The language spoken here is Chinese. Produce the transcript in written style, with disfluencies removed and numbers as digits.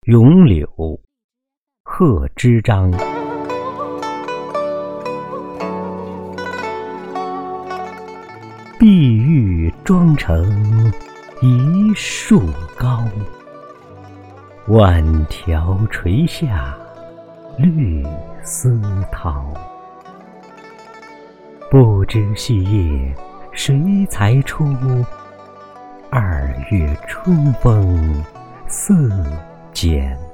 咏柳，贺知章。碧玉妆成一树高，万条垂下绿丝绦。不知细叶谁裁出？2月春风似剪